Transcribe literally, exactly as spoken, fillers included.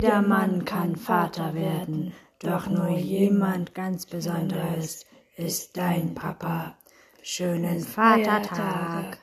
Jeder Mann kann Vater werden, doch nur jemand ganz Besonderes ist dein Papa. Schönen Vatertag!